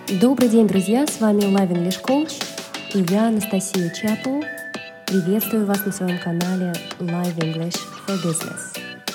Добрый день, друзья! С вами Live English Coach и я, Анастасия Чапл. Приветствую вас на своем канале Live English for Business.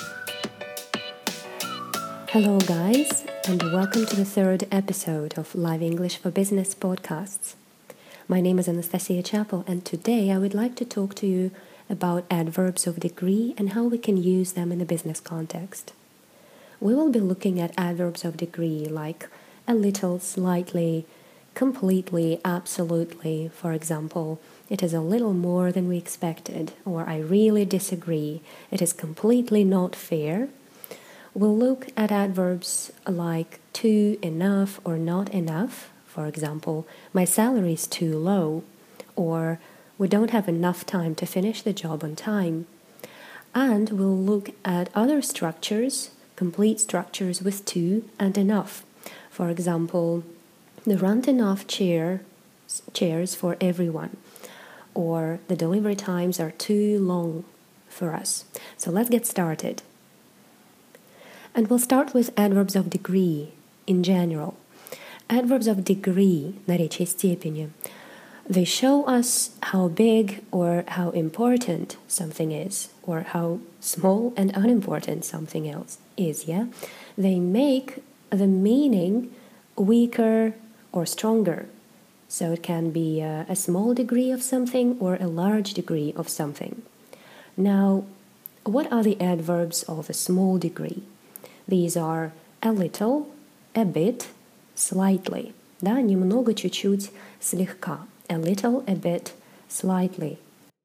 Hello, guys, and welcome to the third episode of Live English for Business podcasts. My name is Anastasia Chapel, and today I would like to talk to you about adverbs of degree and how we can use them in a business context. We will be looking at adverbs of degree like a little, slightly, completely, absolutely. For example, it is a little more than we expected, or I really disagree. It is completely not fair. We'll look at adverbs like too, enough, or not enough. For example, my salary is too low, or we don't have enough time to finish the job on time. And we'll look at other structures, complete structures with too and enough. For example, there aren't enough chairs for everyone, or the delivery times are too long for us. So let's get started. And we'll start with adverbs of degree in general. Adverbs of degree, наречие степени, they show us how big or how important something is, or how small and unimportant something else is, yeah? They make the meaning weaker or stronger. So it can be a small degree of something or a large degree of something. Now, what are the adverbs of a small degree? These are a little, a bit, slightly. Да, немного, чуть-чуть, слегка. A little, a bit, slightly.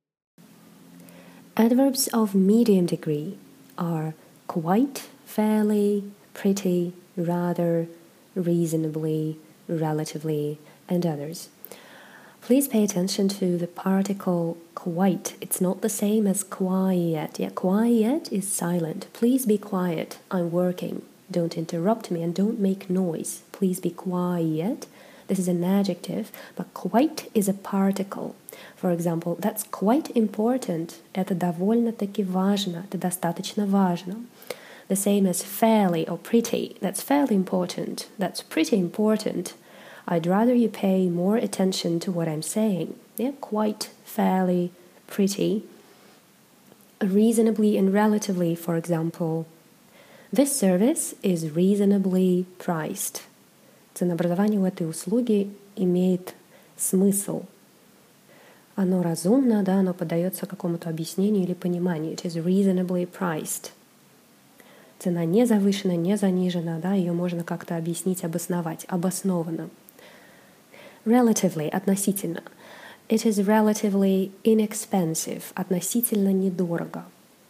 Adverbs of medium degree are quite, fairly, pretty, rather, reasonably, relatively, and others. Please pay attention to the particle quite. It's not the same as quiet. Yeah, quiet is silent. Please be quiet. I'm working. Don't interrupt me and don't make noise. Please be quiet. This is an adjective, but quite is a particle. For example, that's quite important. Это довольно-таки важно. Это достаточно важно. The same as fairly or pretty. That's fairly important. That's pretty important. I'd rather you pay more attention to what I'm saying. Yeah, quite, fairly, pretty. Reasonably and relatively, for example. This service is reasonably priced. Ценообразование у этой услуги имеет смысл. Оно разумно, да, оно поддается какому-то объяснению или пониманию. It is reasonably priced. Цена не завышена, не занижена, да, ее можно как-то объяснить, обосновать, обоснованно. Relatively, относительно. It is relatively inexpensive, относительно недорого.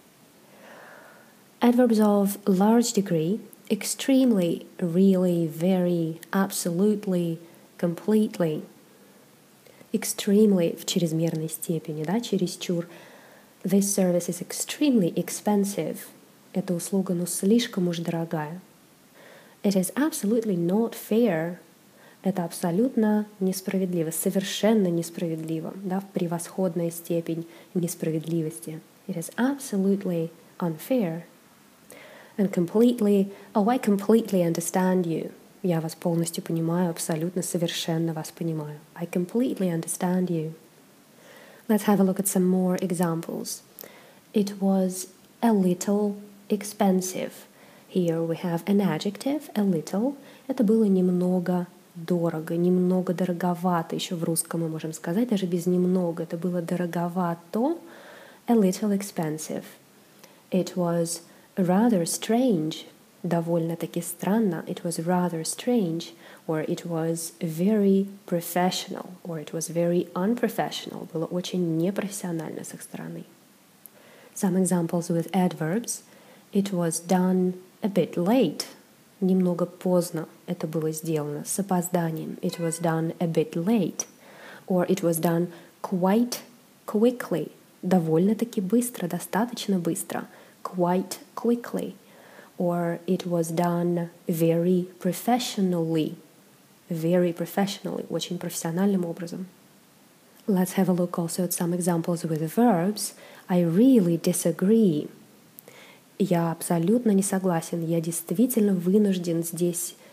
Adverbs of large degree, extremely, really, very, absolutely, completely. Extremely в чрезмерной степени, да, чересчур. This service is extremely expensive. Эта услуга, слишком уж дорогая. It is absolutely not fair. Это абсолютно несправедливо, совершенно несправедливо, да, в превосходная степень несправедливости. It is absolutely unfair. And completely, I completely understand you. Я вас полностью понимаю, абсолютно, совершенно вас понимаю. I completely understand you. Let's have a look at some more examples. It was a little expensive. Here we have an adjective, a little. Это было немного дорого, немного дороговато. Еще в русском мы можем сказать, даже без немного. Это было дороговато, a little expensive. It was rather strange, довольно-таки странно. It was rather strange, or it was very professional, or it was very unprofessional. Было очень непрофессионально с их стороны. Some examples with adverbs. It was done a bit late. Немного поздно это было сделано, с опозданием. It was done a bit late. Or it was done quite quickly. Довольно-таки быстро, достаточно быстро. Quite quickly. Or it was done very professionally. Very professionally, очень профессиональным образом. Let's have a look also at some examples with verbs. I really disagree. Я абсолютно не согласен. Я действительно вынужден здесь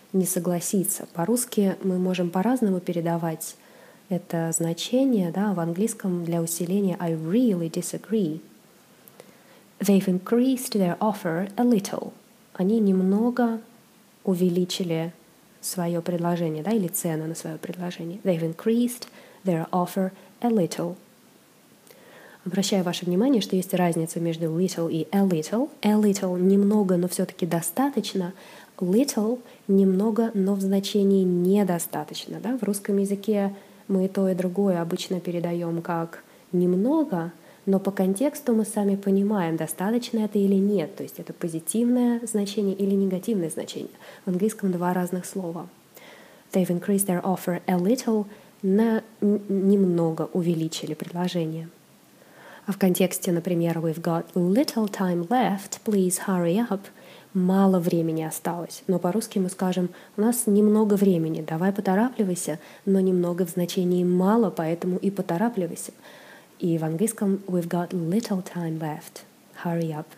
не согласиться. По-русски мы можем по-разному передавать это значение, да, в английском для усиления I really disagree. They've increased their offer a little. Они немного увеличили свое предложение, да, или цену на свое предложение. They've increased their offer a little. Обращаю ваше внимание, что есть разница между little и a little. A little — немного, но все-таки достаточно. Little — немного, но в значении недостаточно. Да? В русском языке мы и то, и другое обычно передаем как немного, но по контексту мы сами понимаем, достаточно это или нет. То есть это позитивное значение или негативное значение. В английском два разных слова. They've increased their offer a little. Немного увеличили предложение. А в контексте, например, we've got little time left, please hurry up. Мало времени осталось. Но по-русски мы скажем, у нас немного времени, давай поторапливайся, но немного в значении мало, поэтому и поторапливайся. И в английском we've got little time left, hurry up.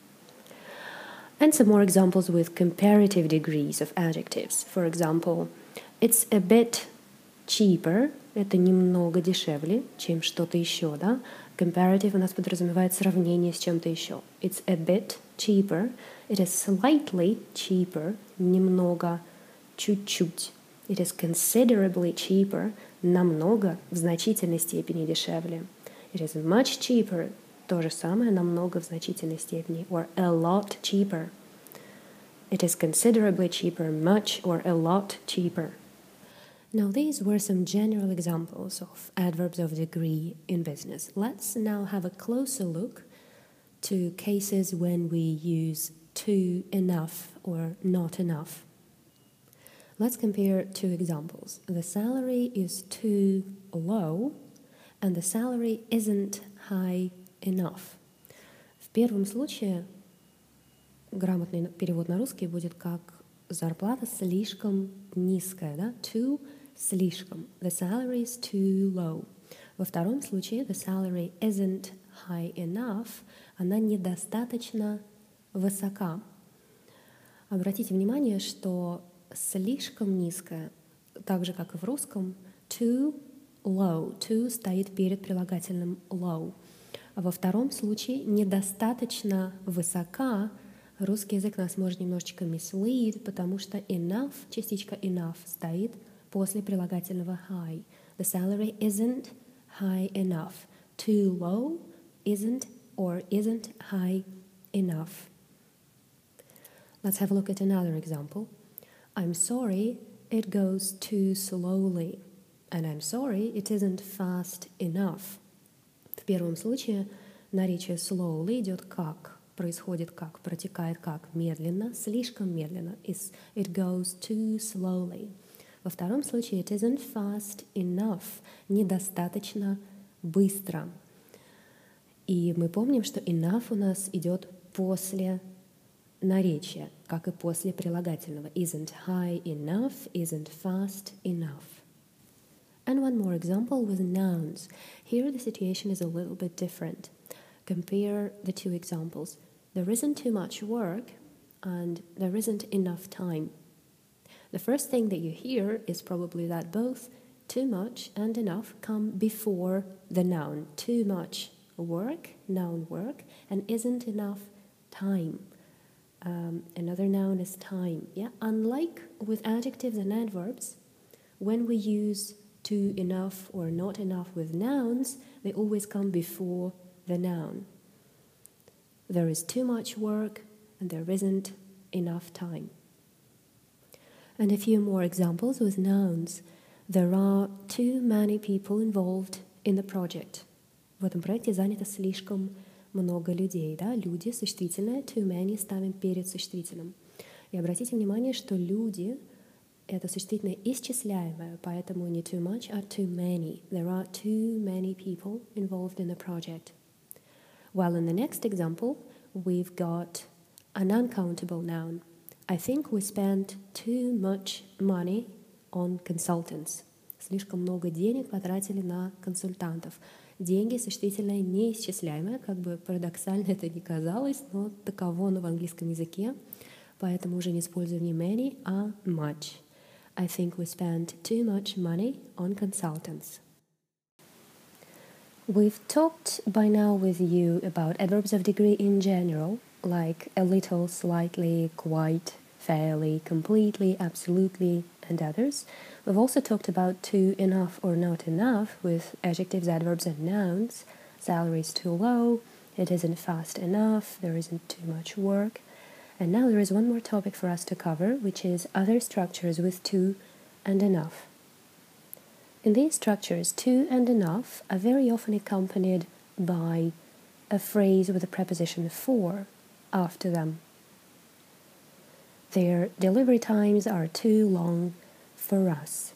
And some more examples with comparative degrees of adjectives. For example, it's a bit cheaper, это немного дешевле, чем что-то еще, да? Comparative у нас подразумевает сравнение с чем-то еще. It's a bit cheaper. It is slightly cheaper. Немного, чуть-чуть. It is considerably cheaper. Намного, в значительной степени дешевле. It is much cheaper. То же самое, намного в значительной степени. Or a lot cheaper. It is considerably cheaper, much, or a lot cheaper. Now, these were some general examples of adverbs of degree in business. Let's now have a closer look to cases when we use too, enough, or not enough. Let's compare two examples. The salary is too low, and the salary isn't high enough. В первом случае грамотный перевод на русский будет как зарплата слишком низкая, да? Too — слишком. The salary is too low. Во втором случае the salary isn't high enough. Она недостаточно высока. Обратите внимание, что слишком низкая, так же, как и в русском, too low. Too стоит перед прилагательным low. А во втором случае недостаточно высока. Русский язык нас может немножечко mislead, потому что enough, частичка enough, стоит после прилагательного high. The salary isn't high enough. Too low isn't or isn't high enough. Let's have a look at another example. I'm sorry, it goes too slowly. And I'm sorry, it isn't fast enough. В первом случае наречие slowly идет как, происходит как, протекает как, медленно, слишком медленно. It goes too slowly. Во втором случае it isn't fast enough, недостаточно быстро. И мы помним, что enough у нас идет после наречия, как и после прилагательного. Isn't high enough, isn't fast enough. And one more example with nouns. Here the situation is a little bit different. Compare the two examples. There isn't too much work and there isn't enough time. The first thing that you hear is probably that both too much and enough come before the noun. Too much work, noun work, and isn't enough time. Another noun is time. Yeah, unlike with adjectives and adverbs, when we use too, enough, or not enough with nouns, they always come before the noun. There is too much work and there isn't enough time. And a few more examples with nouns. There are too many people involved in the project. В этом проекте занято слишком много людей. Да? Люди, существительное, too many ставим перед существительным. И обратите внимание, что люди — это существительное исчисляемое, поэтому не too much, а too many. There are too many people involved in the project. While in the next example, we've got an uncountable noun. I think we spent too much money on consultants. Слишком много денег потратили на консультантов. Деньги — существительное неисчисляемое, как бы парадоксально это ни казалось, но таково оно в английском языке. поэтому уже не использую не many, а much. I think we spent too much money on consultants. We've talked by now with you about adverbs of degree in general, like a little, slightly, quite, fairly, completely, absolutely, and others. We've also talked about too, enough, or not enough with adjectives, adverbs, and nouns. Salary is too low, it isn't fast enough, there isn't too much work. And now there is one more topic for us to cover, which is other structures with too and enough. In these structures, too and enough are very often accompanied by a phrase with a preposition for after them. Their delivery times are too long for us.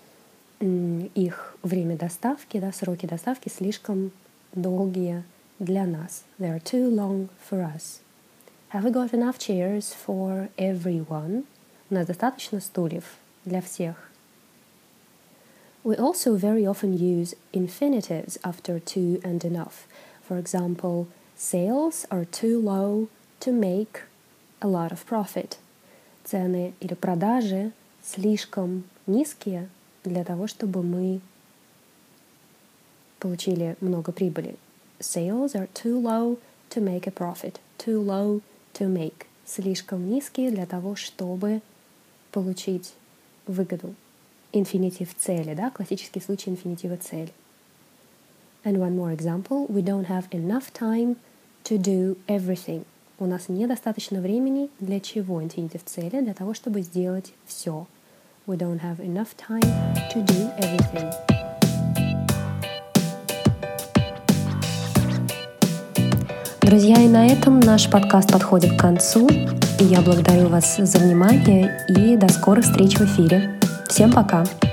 Их время доставки, сроки доставки слишком долгие для нас. They are too long for us. Have we got enough chairs for everyone? У нас достаточно стульев для всех. We also very often use infinitives after too and enough. For example, sales are too low to make a lot of profit. Цены или продажи слишком низкие для того, чтобы мы получили много прибыли. Sales are too low to make a profit. Too low to make. Слишком низкие для того, чтобы получить выгоду. Инфинитив цели, классический случай инфинитива цели. And one more example. We don't have enough time to do everything. У нас недостаточно времени для чего? Инфинитив цели, для того, чтобы сделать все. We don't have enough time to do everything. Друзья, и на этом наш подкаст подходит к концу. Я благодарю вас за внимание и до скорых встреч в эфире. Всем пока!